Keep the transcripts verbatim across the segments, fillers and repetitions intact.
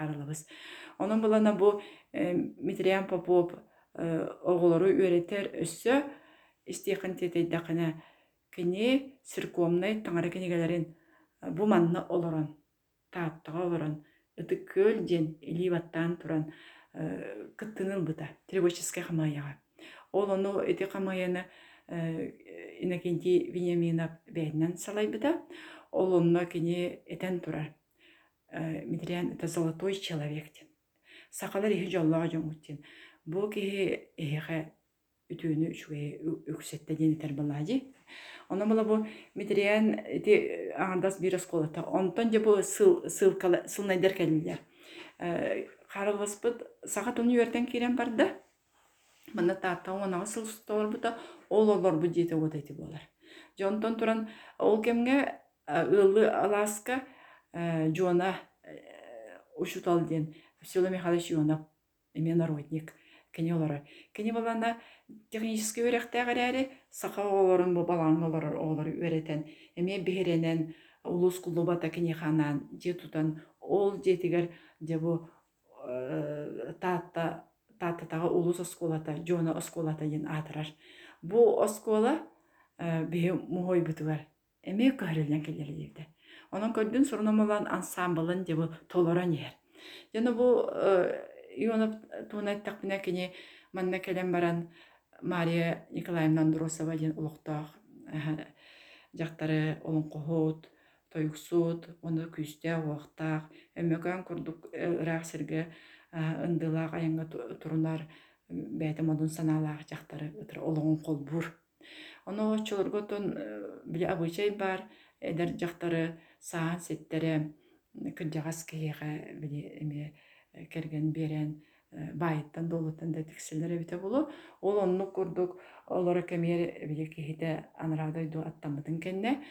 қарылыбыз. Onun bulana bu Mitriyan Popov oğulları öğreter össö isteyken teteyde kini sirkomnay tangara kinigelerin bu manna oloran taattığa oloran ıtık köl den ilivattan turan kıttınıl bıta требовательская хамаяга. Ол onu эти хамаяны инакенти Вениаминов бәйнен салай быта. Ол онна кини этен турар. Митриан это золотой человек. Сақалар ихи жоллаға жоңуттен. Бұл кеге эхе ütüünü şuye öksette deniter ballaji. Ona mala bu Midriyan de andas bir eskolata. Ondan je bu sıl sıl kala sıl neder keliller. Qaralvaspıt saat onu yerden kiren barda. Mana taata ona sıl stor buta ol olur bu jete odayti bolar. Jonton turan ol kemge ıllı Alaska Jona ушутал ден. Всё Михайлович Ионов, имя народник. Кене олары. Кене балана технический өректә гәрәре сака оларын бу балаң олары олары өретен. Эме бехеренен улус кулубата кене ханан же тутан ол жетигер же бу татта таттагы улус осколата, жона осколата ден атырар. Бу оскола бе мой бутугар. Эме көрелгән келер диде. Onun kördün sorunamalan ansamblın de bu tolaran yer. Yani bu Ионов туунай такпина кини манна келем баран Мария Николаевна Андросова ден улуктак жактары олон кохот, тойгсут, оны күстә вактак, эмекән курдук рахсерге ындылак аянга турунар бәйтә модун саналак жактары ытыр олон колбур. Оны чолорготон биле абычай бар, эдер жактары саан сеттере кырдагас кеге биле эме керген берен байыттан долуттан да текселлер бите болу. Ол онну курдук олора кемер биле кехите анрадойду аттамытын кенне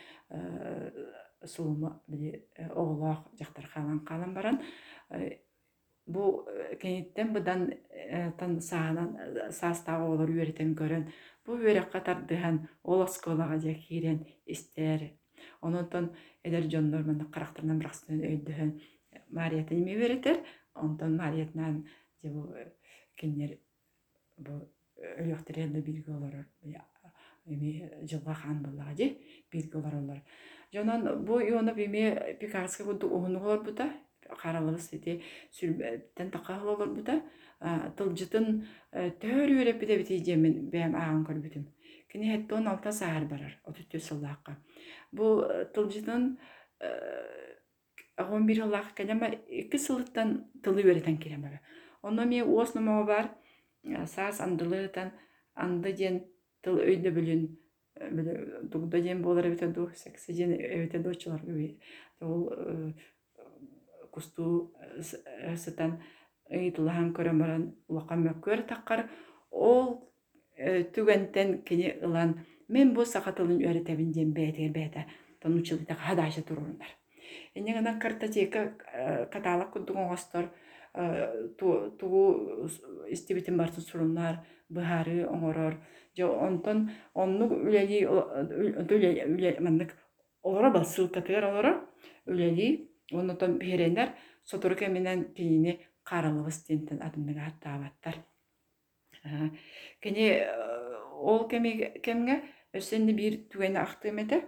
сулма биле оглак жактар халан калан баран. Бу кенеттен будан тан саанан састагы олор үйрөтен көрөн. Бу үйрөк катардыган ол осколага же кирен истер. Онотон эдер жондор мында карактарынан бираксын өйдөн Мариятын эме беретер. Ondan Mariyet'den bu kendiler bu ölüktürelde bilgi olarak emi жылга хан буллагы bilgi olarak. Jonan bu yonu bime Picasso bu oğunlar bu da karalыбыз ете sülbetten takal olur bu da tılcıtın tör yörep bide biteceğimin ben ağan körbütüm. Kini hette on altı sahar barar otuz dört yıllıkka. Bu tılcıtın on bir yıllık kelime iki sılıttan tılı öğreten kelime. Onu mi osnama var saz andılıtan andı den tıl öyle bilin böyle dugda den bolar biten du seksi den evete doçlar gibi. O kustu satan eğitilen köremeren ulaqam yakör takkar ol tügenten kini ilan men bu sakatılın öğretebileceğim bete bete tanıçılıkta hadaşa dururlar. Ennegadan kартотека каталог кудугон гостор туу истибитин бартын суруннар быхары оңорор же онтон онну үлели үлели мандык олора ба ссылкатыр олора үлели онтон берендер соторке менен тиини каралыбыз тентен адымдыга аттаабаттар. Кене ол кеме кемге өсенди бир түгени актымете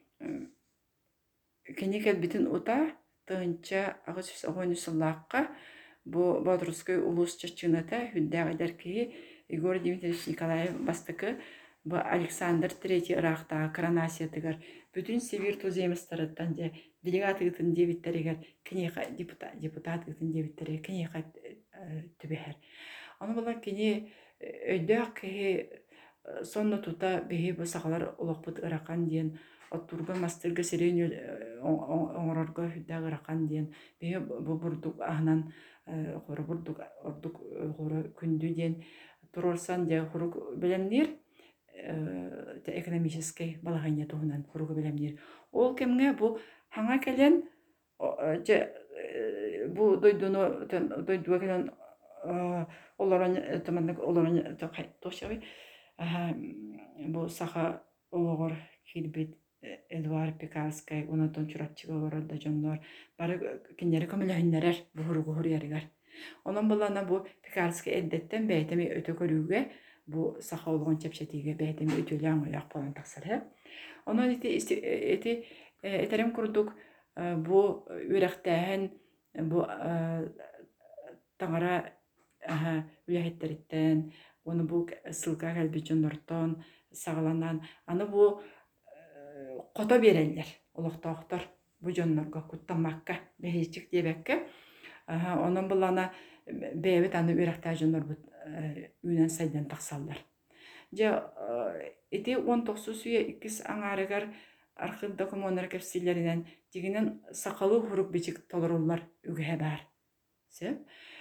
Кенекел битин ута тынча агыс огонусуллакка бу Бодрусской улус чачыната хүддәгы дәрки Егор Дмитриевич Николаев бастыкы бу Александр третий Иракта коронация тигер бүтүн Сибирь туземистарыттан же делегатыгытын дебиттерегер кенеха депутат депутатыгытын дебиттере кенеха түбәһәр. Аны була кене өйдәк сонно тута беһи бу сагалар улакпыт Иракан дигән Oturga masterga serenyo oңорорго хүддәгы ракан диен бе бу бурдук ахнан хору бурдук ордук хору күндү диен турорсан же хору белемнер экономический балагanya тугунан хору белемнер ол кемге бу хаңа келен же бу дойдуну дойдуга келен олорон тамандык олорон тошабы бу саха ологор килбет Эдуард Пекарскай, онотон чурапчыга олорор да жоннор, бары киннери көмөлөһүннерер буһуру-буһур ярыгар. Онон булана бу Пекарский эддеттен бәйтеми өтө көрүүгө, бу саха олгон чепчетиге бәйтеми өтөлөң ояк болан таксары. Онон ити эти этерем курдук бу үрәхтәһен бу таңара үәһеттериттен, оны бу сылга кэлбичоннортон сагаланан, аны бу қото береллер, олохтоохтор бу дьоннорго куттаммакка, бэһиичик диэбэкке. Онон булана бэбит аны үрәхтää дьоннорбут үүнэн сайдан тахсаллар. Дьэ ити он тохсус үйэ иккис аңаарыгар архив документар кэпсилэринэн дигинэн сакалуу хурук бичик толоруллар үгэһэ баар. Сэ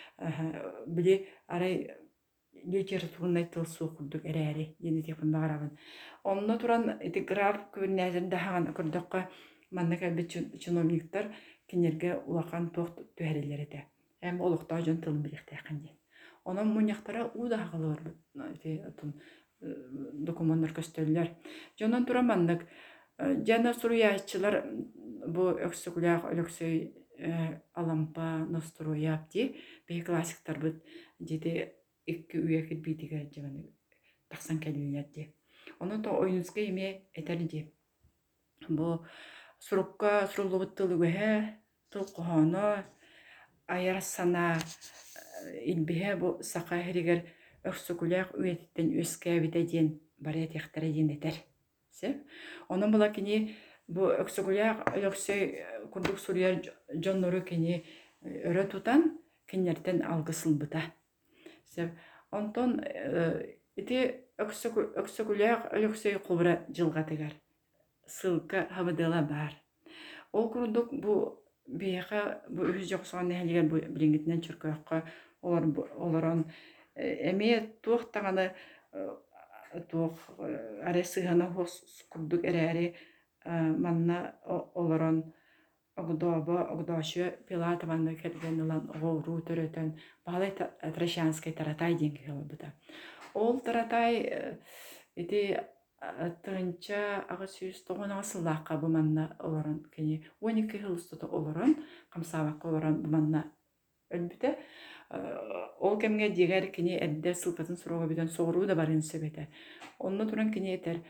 били арай литературный тылсуу курдук эрээри диэни тепин багарабын. Онно туран ити граф күбүнээзин дахаган көрдөккө манна кэлбит чиновниктар кинерге улахан туох түһэрилэрите. Эм олуктаа жон тылын билихтэйхэн дien. Онон муньяхтара ууда хагалар ити документтар көстөллөр. Жонон тура маннык жана суруяачылар бу өксүглях өлөксөй алампа настрояп ди бе классиктар бут диде икки үйекит битиге жаманы таксан келилер ди. Онон то ойнуска эме этер ди. Бу сурукка сурулубуттылыгыһэ тылкоһоно айарсана илбиһэ бу сака херигер өксүглях үйеттен өскәбите диен барет яхтара диен этер. Се? Онон була кини бу өксүглях өлөксөй курдук суруяр жоннору кини өрө тутан киннертен алгысылбыта. Се? Онтон ити өксүглях өлөксөй кубра жылгатыгар сылка хабыдыла бар. Ол курдук бу бияка бу үз жоксоон нехилигер бу билингитинен чүркөккө олорон эме туох таганы туох аресыгана хос курдук эрээри манна олорон огдообо огдоощу пилата манна келгенилан ооруу төрөтөн баалай Трощанский таратай деньги хылбыта. Ол таратай ити тынча агысүйүс тогон асыллаакка бу манна олорон кини он эки хылыстыты олорон камсаабакка олорон бу манна өлбүтэ. Ол кемге дигер кини эдде сылкатын сурога бүтөн сооруу да барын сөбөтө. Онно туран кини этер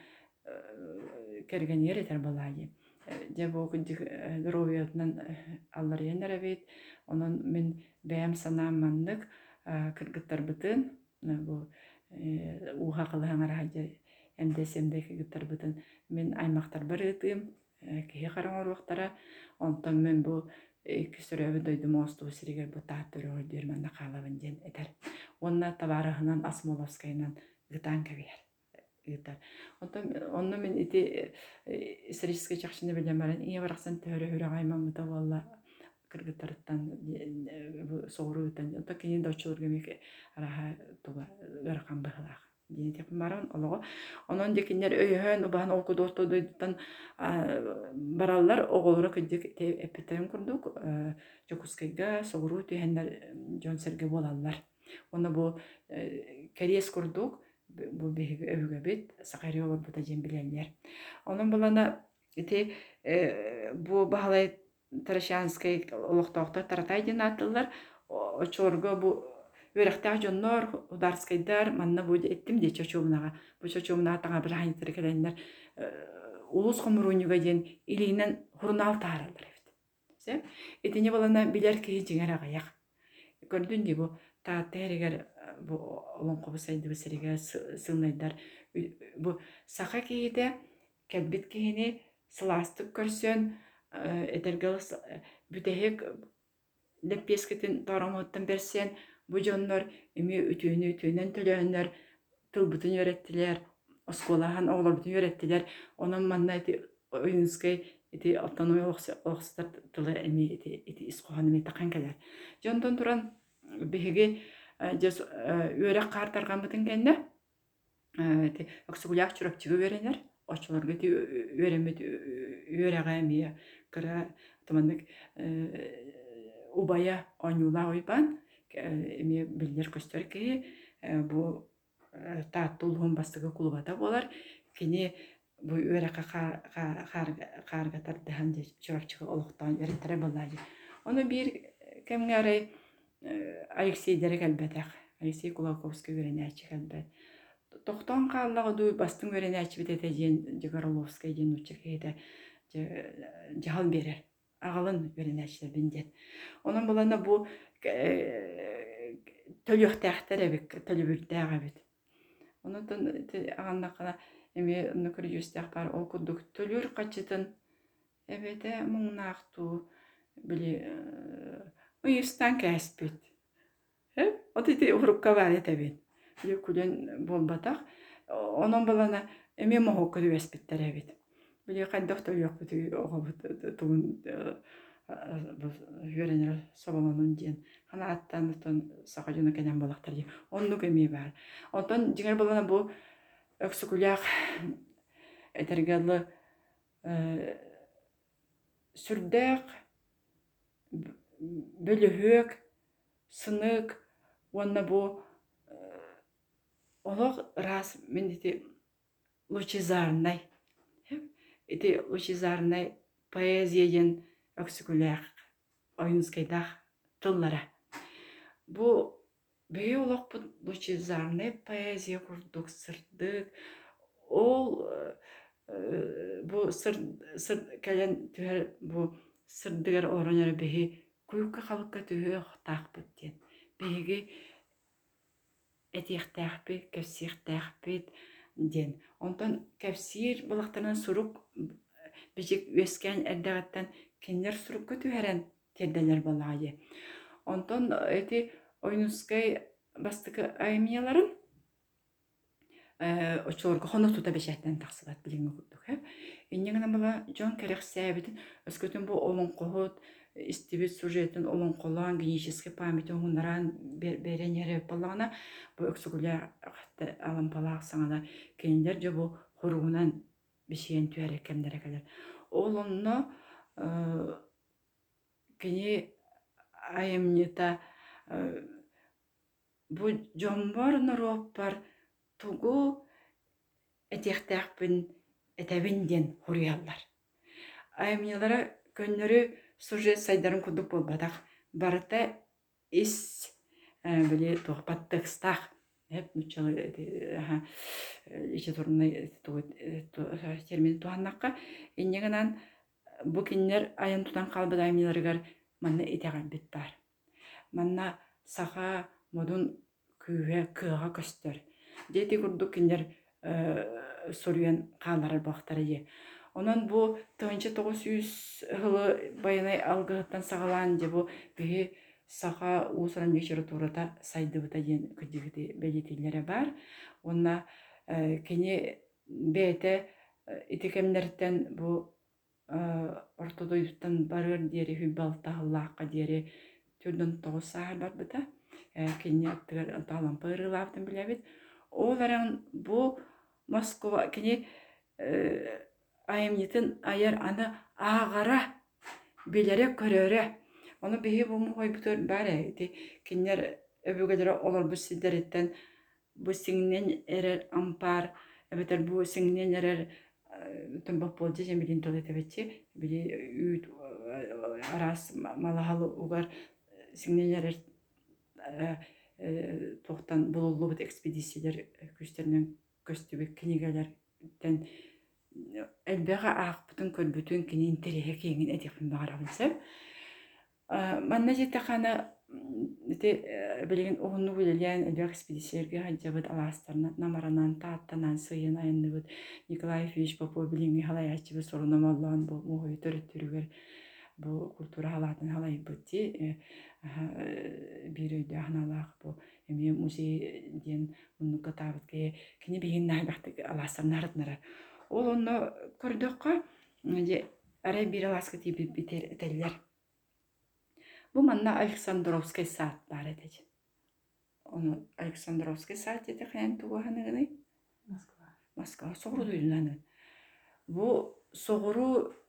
кергенер этер балайы. Же бу здоровьятынан аллар янара бит. Онон мен бэм санаам мандык кыргыттар бытын бу уха кылаңар хаҗа эмдесемде кыргыттар бытын мен аймактар барытым кие караңар вактара. Онтон мен бу iki sürübü doydum ostu sirigер bu tahtörü öldür manna kalabın den eter. Onna tabarahынан Asmolovskayынан gıtan kavier. Gıtar. Ondan men iti исторический чакшыны билем баран ие бараксан төрө хүрө гайман мыта валла кыргыттарыттан бу соорутан ото кини дочулурга меке араха туга гаркан бахлах. Дени теп баран олого. Онон декинер өйһөн убан окуду отодуйдан бараллар оголора кыдык эпетерин курдук Жокускайга сооруу түйһеннер жонсерге болаллар. Оны бу керес курдук бу беге өвгө бит сакари олор бута жем билелер. Онун булана ити бу баалай Трощанский олоктоктор таратай ден атылар очорго бу Өрәхтәг жоннор ударскайдар манна бу эттим де чочумнага. Бу чочумнага таңа бир хайнтыр келеннер улус комурунуга ден илинен хурнал тааралар эфт. Се? Этине балана билер ки жиңер агаяк. Көрдүн ди бу та теригер бу олон кобусайды бисериге сылнайдар. Бу сака кийде келбит кийини сыластык көрсөн этергел бүтехек леппескетин тарамоттан берсен бу жоннор эми үтүүнү үтүүнөн төлөөнөр тылбытын öğrettiler, осколахан оголорбутун öğrettiler. Онон манна эти Ойнскай эти автономия оксустар тылы эми эти эти искохан эми такан келер. Жондон туран беге жес өрөк картарган бутун кенде эти оксугулак чуракчыгы беренер. Очолорго эти өремет өрөга эми кыра тамандык убая онюла ойбан эми билдер көстөр ки бу тааттуулгун бастыгы кулубата болар. Кини бу үрәкә карга тардыһан же чуракчыгы олуктан эреттере боллаҗы. Оны бир кемгәре Алексей Дерек әлбәтәк. Алексей Кулаковский үрәнәче әлбәт. Тоқтон қаллағы дуй бастың өренәчі бітеті ден Жегаровскай ден учекейді жағал берер. Ағалын өренәчілер біндет. Оның болана бұл төліқтәқтер әбік, төлі бүрдәға бит. Оны ағанна қана әме нүкір жүстәқ бар. Ол күрдік төлір қачытын әбеті мұңнақту білі ұйыстан кәспет. Оты ұрыққа бар әтәбет. Күлен болбатақ, оның балана әме моғу көді әспеттер әбет. Біле қайдақтар жоқ бүті оғы тұғын үйеренер собаланын ден. Қана аттан ұтын сақа жүні кәнен болақтар ден. Онны көмей бар. Онтан жеңер балана бұл өксікулях әтергелі сүрдәқ, бөліғік, сынық, онна бұл олог раз мен эти лучезарный эти лучезарный поэзияен өксүгүлэх ойынскайдах тыллара. Бу бей олог бу лучезарный поэзия курдук сырдык. Ол бу сыр сыр кэлен түһэр бу сырдыгар оронер беги куюкка халыкка түһэ тах бүттен. Беги этихтәхпит, кәфсихтәхпит ден. Онтан кәфсир балақтарынан сұрук бежек өскен әрдәғаттан кендер сұрук көтүһәрән терделер балағайы. Онтан эти ойнускай бастықы аймияларын очолорға қонық тута бешәттен тақсылат біліңі күрдік. Иннегіна бала жон кәрек сәбетін өскөтін бұл олың қоғыт, истибит сюжетін олон қолан генетический памяти оңындаран берен ері болағына бұл өксігілер алын балақ саңана кендер же бұл құруынан бішейін түйәрі кемдер әкелер. Ол онны кені айымнета бұл жомбар нұроппар тұғу әтектәқпін әтәбінден құриялар. Айымнелары көннері сюжет сайдарын күдік болбадақ. Барыта ис біле тоқпаттық стақ. Әп нүтчалы еші тұрынай термин туғаннаққа. Еннегінен бұл кеннер айын тұтан қалбыд айымнеларығар манна етеғал бет бар. Манна саға модун күйе кыға көстер. Дети күрдік кеннер соруен қаларар бақтары е. Онан бу тыгынчы тогуз жүз хылы байынай алгыттан сагалан же бу биги саха уусаран вечері турата сайдыбыта ден күдігіде бәлетелері бар. Онна кене бәйті итекемдерден бу ортодойдықтан барыр дері хүббалтағылаққа дері түрдің тоғыз сағыр бар бұта. Кене аттығар антағалан пырылавдың біләбет. Оларан бу Москва кене айымнетін айар аны ағара белері көрері. Оны бейі бұл мұғай бұтыр бәрі. Кенер өбігілері олар бұл сидереттен бұл сіңнен әрер ампар, әбетер бұл сіңнен әрер түнбақ болды жем білін толы әтебетте. Білі үйт арас малағалы ұғар сіңнен әрер тоқтан бұлылы бұд экспедициялер күштерінен көстібек книгелерден әлбәға ақ бұтын көрбүтін кенен тереге кеңін әдекпін бағарағын сәп. Манна жетті қаны білген оғынны өлелен әлбәқ экспедициялерге ғаджабыд аластарына намаранан, тааттанан, сыйын айынны бұд Николай Ильич Попов біліңі қалай әчібі сорынам Аллан бұл мұғай түріттірігер бұл культура халатын халай бұдде бір өйді ағыналақ бұл әме музейден мұнны қатабытке кені бейін нәйбақты аластарын арытнары. Ол оны көрдіққа әрі бір аласқы тейбі бітер әтелілер. Бұл манна Александровский саат бар әтеді. Оны Александровский саат еді қайын туғаны ғынай? Москва. Москва. Соғыру дүйдінаны. Бұл соғыру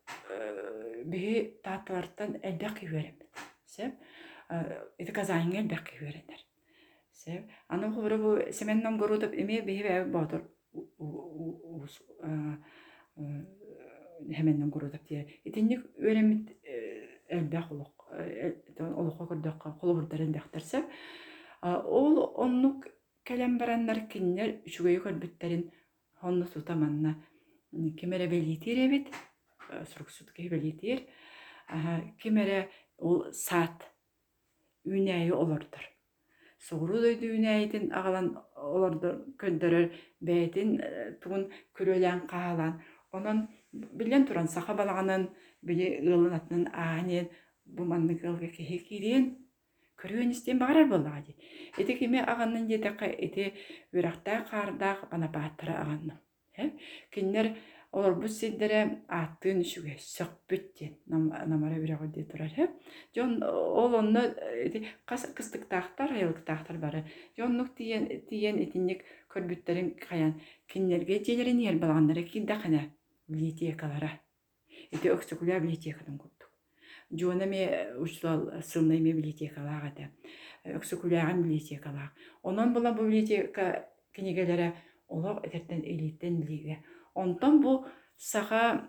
бігі татылардан әлбәқ күйерем. Сәп? Еді қазайын әлбәқ күйерендер. Сәп? Аны құбыры бұл семеннен көрудіп еме бігі бәуі бағдыр. hemen gurudap diye. İtinlik öğrenmit elbaq oluq. Oluqa kurdaqqa qolu burdарын daqtarsab. Ol onnuk kelem baranlar kinler şugayı körbütlerin honnu tutamanna kimere belitir evet. Suruksut ki belitir. Kimere ol saat ünəyi olurdur. Soğuru döydü ünəyitin ağalan olurdu köndürür. Beytin tuğun körölen qağalan. Onun bilen turan sağa balağının bili ığılın atının ağanın bu manlık ığılga kehe kirien körüyen isteyen bağırar bolağı. Eti kime ağanın yedeqe eti üraqta qarda bana battıra ağanın. Kinler olur bu sidere attığın şüge sökbütten namara üraqı diye turar. Jon ol onu kıstık tağtar, ayılık tağtar barı. Jonluk diyen etinlik körbütlerin kayan kinlerge celerin yer balağanlara ki daqana bibliotekalara. Eti öksüküler bibliotekadan kurduk. Jona me uçlal sılnay me bibliotekalara da. Öksükülerin bibliotekalara. Ondan bula bu biblioteka kinigelere olaq eterten elitten bilge. Ondan bu sağa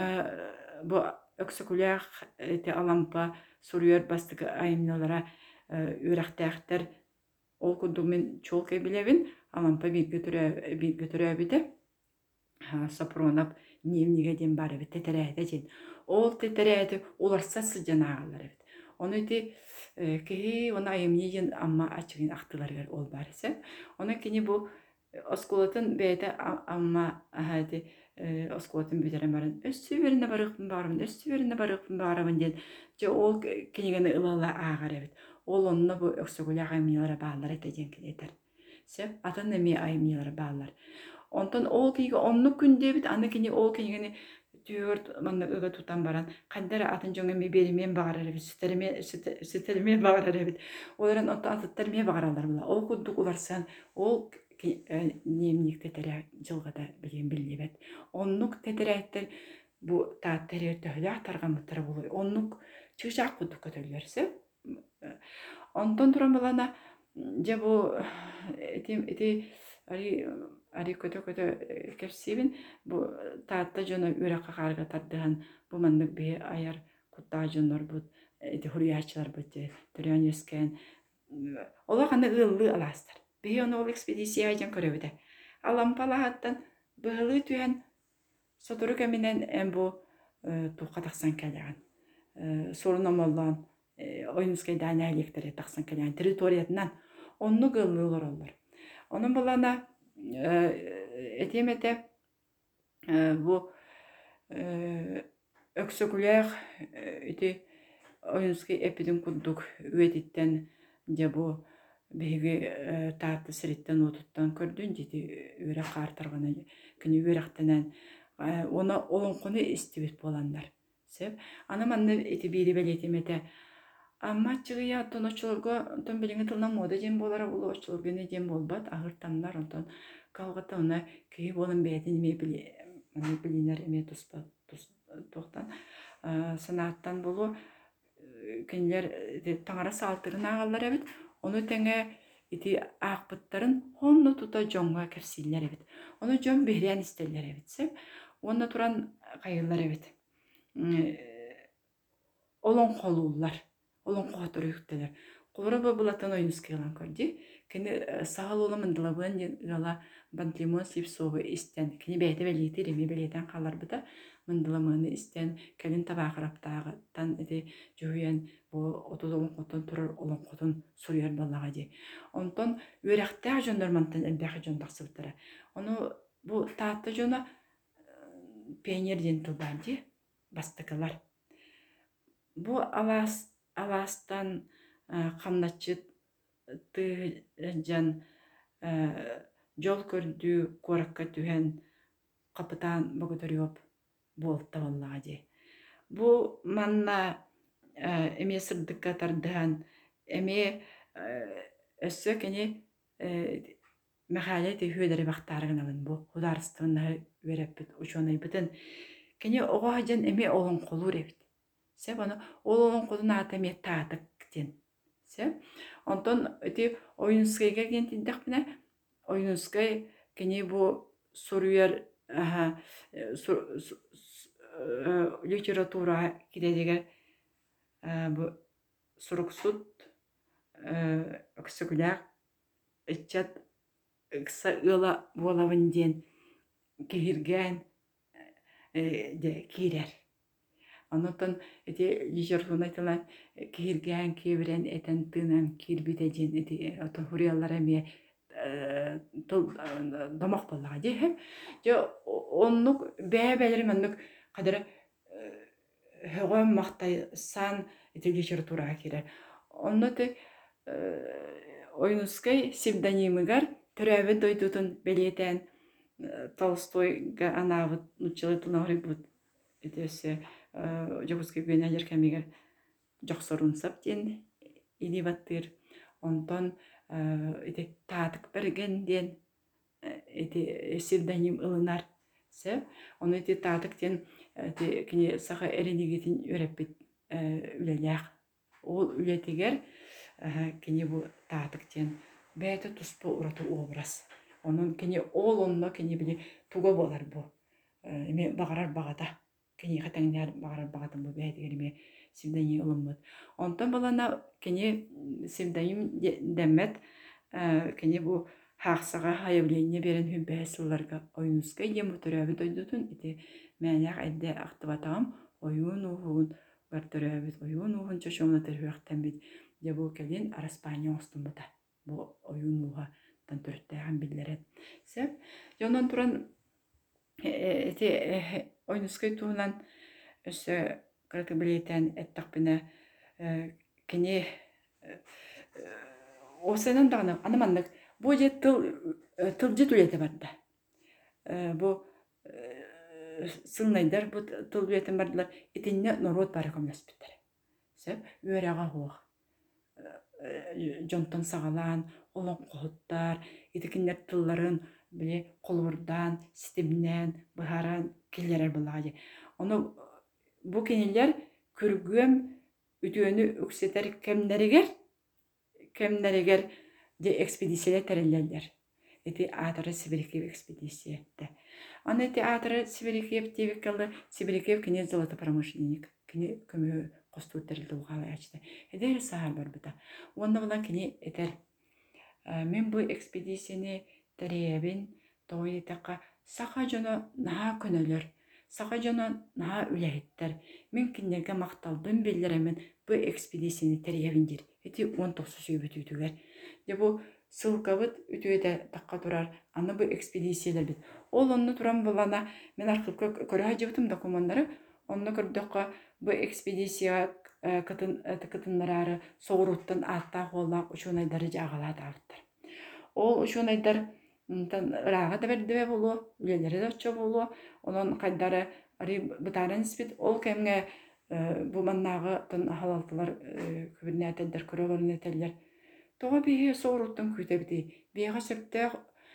bu öksüküler eti alampa soruyor bastık ayımnalara üraqtağıtlar ol kundumen çolke bilevin alampa bir götürü bir götürü bide sapronap nemniге ден бар бит тетерәде ден ол тетерәде оларса сыжан агалар бит оны ди ки оны айымнен амма ачыгын актылар бер ол барса оны кини бу осколатын бейте амма хadi осколатын битерен барын өссү берине барыкпын бармын өссү берине барыкпын бармын ден же ол кинигени ылала агар бит ол онны бу өксөгүлө айымнелер баалар этеден кинетер сеп атын эми айымнелер баалар. Ondan ol ki onlu günde bit anı kini ol kini dört manna öge tutan baran kandara atın jonga me berimen bağırar bit süterime süterime bağırar bit olaran ondan atırtırmaya bağırarlar bula ol kuduk ularsan ol nemlik tetere жылgada bilen bilibet onluk teteretter bu taattere töhle atargan mıtara buluy onluk çıkacak kuduk kötülürse ondan duran balana je bu etim eti ari ari kötü kötü kepsibin bu taatta jona üraqa qarga tardığan bu mandık bir ayar kutta jonlar bu eti huriyaçlar bu töryan yesken ola qanda ıllı alastar bir onu ol ekspedisiya jan köröbüde alampala hattan bıhılı tüyen sotoru keminen en bu tuqa taqsan kelgan sorunam olan oyunskay dana elektere taqsan kelgan territoriyatından onu gıllılar olur onun balana etemete bu öksüküler iti oyunski epidin kurduk üyeditten de bu begi taatı siritten otuttan kördün dedi üre qartargana kini üreqtenen ona olun konu istibit bolanlar sep anamanna iti biri beletemete amma çıgıya tonoçulga ton bilingi tılnan moda jem bolara ulu oçulgene jem bolbat ağırtanlar ondan kalgata ona köy bolun beytin me bili mani biliner eme tuspa toqtan sanattan bolu kinler tangara saltırın ağallar evet onu tenge iti ağbıtların honnu tuta jonga kefsiller evet onu jon behriyan isterler evet sep onda turan kayırlar evet olon kolullar olon qotur yükteler. Qora bu bulatan oyunuz kelan kördi. Kini sağal olamın dilabın gala bantlimon sip soğu isten. Kini beyte beliyeti remi beliyeten qalar bıda. Mındılamını isten. Kelin tabaqırap dağıttan edi juhuyen bu otuz olon qotun turur olon qotun suruyar ballağa di. Ondan üreqtağ jondormantan elbaqı jondaqsı bıtara. Onu bu taatta jona peynirden tıldan di. Bastıkılar. Bu alas alastan qamnatçı tıjan jol kördü korakka tühen kapıtan bogotör yop bolta vallahi. Bu manna eme sırdıkka tardıhan eme össökeni mehaleti hüderi baktargınavın bu hudarstığına verep uçonay bütün keni oğacan eme olun kolur evet. Se bana olon koduna atamet tatık den. Se ondan öte oyunskayga gentindek bine oyunskay keni bu soruyar Aha, литература кидедигер бу суруксут өксүгүлээх ыччат ыкса ыла буолабын диэн киһиргээн де киирэр. Онотон эти литература айтылан кииргээн киэбирэн этэн тыынан киирбите диэн эти отон хуриаллар эмиэ домох боллаҕа диэһэ. Дьэ оннук бэбэлэр маннык хадара högöm махтай сан эти литературага киирэр. Онноты ойнускай псевдонимыгар төрөбүт дойдутун белиэтэн Толстойга анаабыт нуччылы тунагырыбыт этэсе жогускай гүнэлэр кэмигэр жохсорун сап диэн илибаттыр. Онтон эти таатык берген диэн эти псевдоним ылынар сэ. Оны эти таатык диэн эти кини саха эренигитин үрэппит үлэлээх. Ол үлэтигэр кини бу таатык диэн бэйэтэ туспу ураты образ. Onun kini ol onno kini bili tuga bolar bu. Эми багарар багата. Кини хатаңнар багарар багатын бу бэйдигер эми симдени улуммут. Онтон балана кини симдайым демет кини бу хаксага хаявление берен хүбэсылларга ойнуска ем төрөбү дойдутун ити мәнәк әдде актыбатам ойун угун бартөрөбүт ойун угун чошомна терхтен бит. Де бу келин араспания остумута. Бу ойун уга төрттәгән билләре. Сәп, янан туран эти ойнускай туһунан өсө кыркыбылетен эттакпына кини осенан дагы анаманнык бу же тыл тыл же түлете барда. Бу сылнайдар бу тыл түлетен бардылар. Итинне народ бары комласпыттар. Сәп, үрәгә хуак. Жонтон сагалан олон кохуттар, итикиннер тылларын биле колурдан, системнен, быхаран киллерер буллагы. Оны бу кинилер күргөм үтүөнү үксетер кемнеригер, кемнеригер де экспедициялар тереллер. Эти атары Сибирский экспедициятте. Аны эти атары Сибирский тевикалы, Сибирский кини золото промышленник, кини көмө костуу терилди угалы ачты. Эдер саар бар бута. Онда булан кини этер мен бу экспедицияны теребин тойтака саха жона наha көнөлөр, саха жона наha үлэйттер. Мен киннерге макталдым беллеремен бу экспедицияны теребин дир. Эти он тогуз сөйбүтүгөр. Де бу сылкабыт үтүөдө такка турар. Аны бу экспедициялар бит. Ол онну туран булана мен аркылкы көрө жыбытым документтары. Онну көрдөккө бу экспедиция кытын кытыннары соғыруттан атта холла учунайдары жагалат алыптар. Ол учунайдар тан рага да бердебе болу, үлелери да чо болу. Онон кайдары ари бытарын спит ол кемге бу маннагы тан халалтылар күбүннәтелдер көрөлөрнәтеллер. Тога бие соғыруттан күтебди. Бияга септә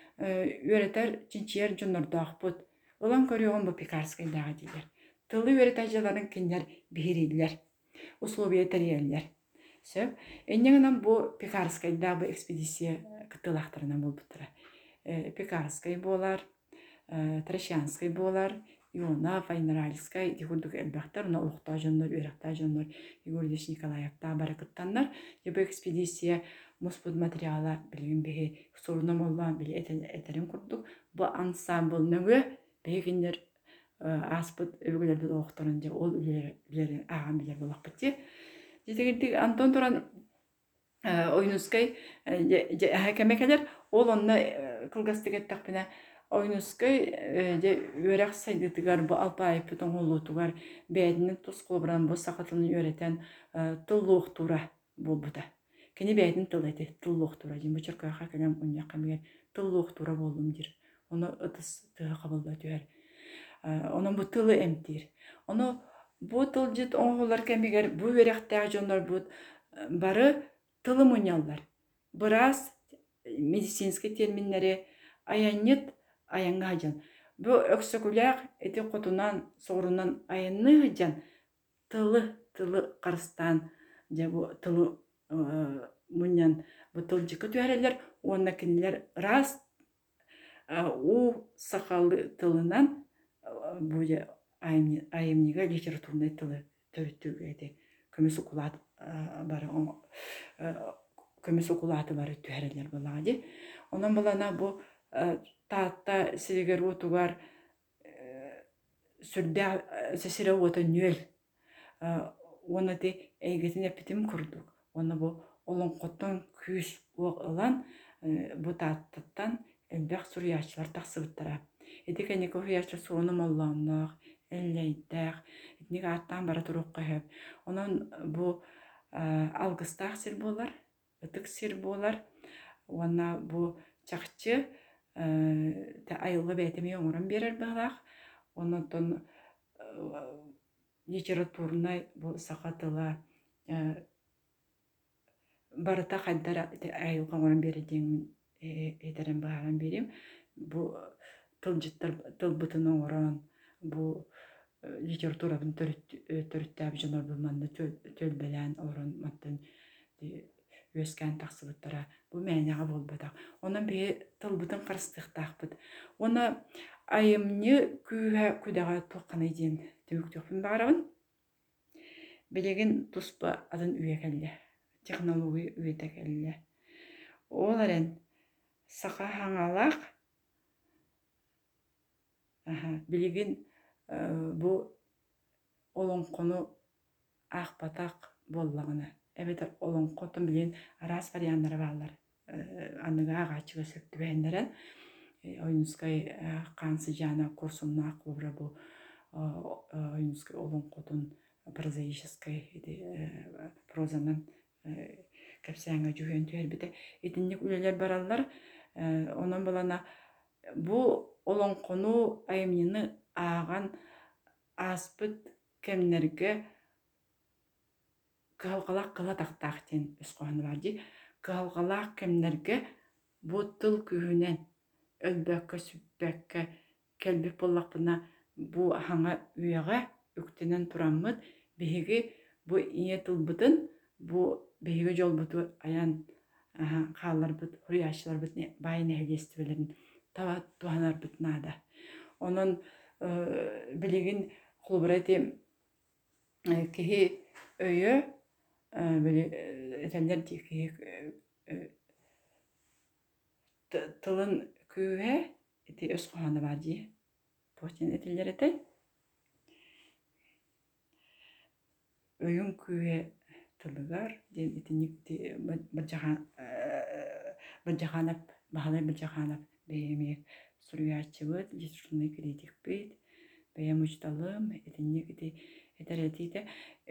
үретер чинчер жоннордакпыт. Улан көрөгөн бу Пекарскай дагы дилер. Тылы үретажаларын киндер бирилер. Условия терьеллер. Сөп, эннеңнән бу Пекарскай да бу экспедиция кытылактарынан булбыттыра. Пекарскай болар, Трещанскай болар, Иона, Файнеральскай, дигурдук элбахтар, на улукта жоннор, үрәкта жоннор, Игорьевич Николаевта баракыттаннар. Бу экспедиция муспут материала билген беге сорунам болган били этерин курдук. Бу ансамбль нөгө бегиндер аспыт өвгөлөрдү окторун же ол үлери аган билер болакпытти. Жетегирдик Антон Туран ойнускай кемекелер ол онна кылгастыгет такпына ойнускай же үрәк сайдытыгар бу алпайып бүтүн олутугар бэдинин тускулбуран бу сакатын үйрөтен тыллук тура болбута. Кени бэдин тылайты тыллук тура жин бучурка хакалам унья камер тыллук тура болдум дир. Оны ытыс тыга кабылда түер. Onun bu tılı emtir. Onu bu tılcıt oğullar kemiger bu verekte jonlar bu barı tılı munyallar. Biraz medisinski terminleri ayanıt ayanga hajan. Bu öksüküler eti kotunan sorundan ayanı hajan tılı tılı karstan ja bu tılı munyan bu tılcıkı tühereler ona kinler rast у сақалы тылынан бу айымнига литературный тылы төрүттүгү көмөс укулат бары көмөс укулаты бары түһәрелер булагы. Онан булана бу таатта сиригер утугар сүрдә сесире ота нөл. Оны те эйгетине питим курдук. Оны бу олон коттон күс олан бу тааттан элбек сурьячлар тахсыбыттара. Эдикене кохуячы суону молланнак, эллейдак, этник аттан бара турукка хеп. Онан бу алгыстак сир болар, ытык сир болар. Онна бу чакчы та айылга бәйтеме оңорон берер баглак. Онотон литературный бу сакатыла барыта хаддара айылга оңорон бередин этерен баган берим. Бу тылжыттар тылбытын оңорон бу литературабын төрүттәб жонор булманды төлбелән орон маттын өскән тахсыбыттара бу мәнәгә болбата. Онан бе тылбытын карыстыктакпыт. Оны айымны күһә күдәгә токканы дин төк төкпүн барабын. Билеген туспа атын үекәлле. Технология үетәкәлле. Оларын сака хаңалак аха билеген бу олон кону акпатак боллагына. Эбетер олон котун билен рас варианттары баллар. Аныга агачыга сөктүбәндерен Ойнускай кансы жана курсумна клубра бу Ойнускай олон котун прозаической прозанын кепсәңгә жүгән төһәрбите этинник үлеләр бараллар. Онан булана бу олон кону айымны аган аспыт кемнерге калгалак кыла тактактен өскөһүн барды. Калгалак кемнерге бу тыл күһүнен өлбәккә сүппәккә келби боллакпына бу хаңа үяга үктенен тураммыт биһиги бу ие тылбытын бу биһиги жолбуту аян халлар бит хуячлар бит байны хелестибелерин таба туанар бит нада. Онон билеген клубрати кеһи өйө биле этелер дики тылын күһә эти өскөһүн бади. Потен этелер эте өйүн күһә тылыгар ден этинник баджахан баджаханап бахалай баджаханап беме сурьячыбыт литературный критик бит беем учталым этинник эти этеретите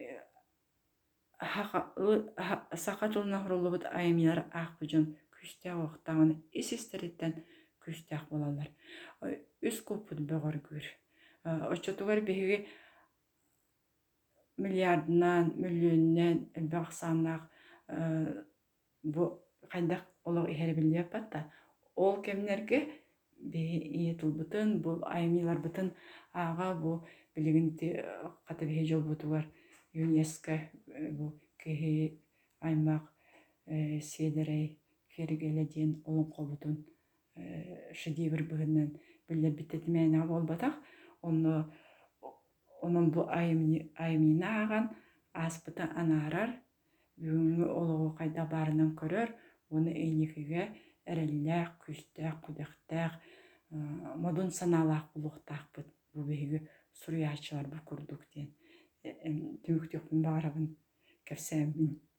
сакатулна хурулубут айымнар акбыжын күстә вактагын исистериттен күстә болалар. Үс купут бөгөр күр. Очотугар биһиги миллиардынан, миллионнан баксанак бу кайдак олог ихербилеп батта. Ол кемнерге бе тулбутын бу айымнар бутын ага бу билигинти катабе жолбутугар ЮНЕСКО бу кеһи аймак седерей кергеледен олон колбутун шедевр бүгүннән билер биттетмәне болбатак. Оны onun bu ayımni ayımına ağan aspıta anarар бүгүнгү олого кайда барынан көрөр. Оны эйникиге эрелләк, күстәк, кудактак, модун саналак булуктакпыт. Бу биги сурьячылар бу курдук ден. Түмүктөкүн барабын кепсәмин.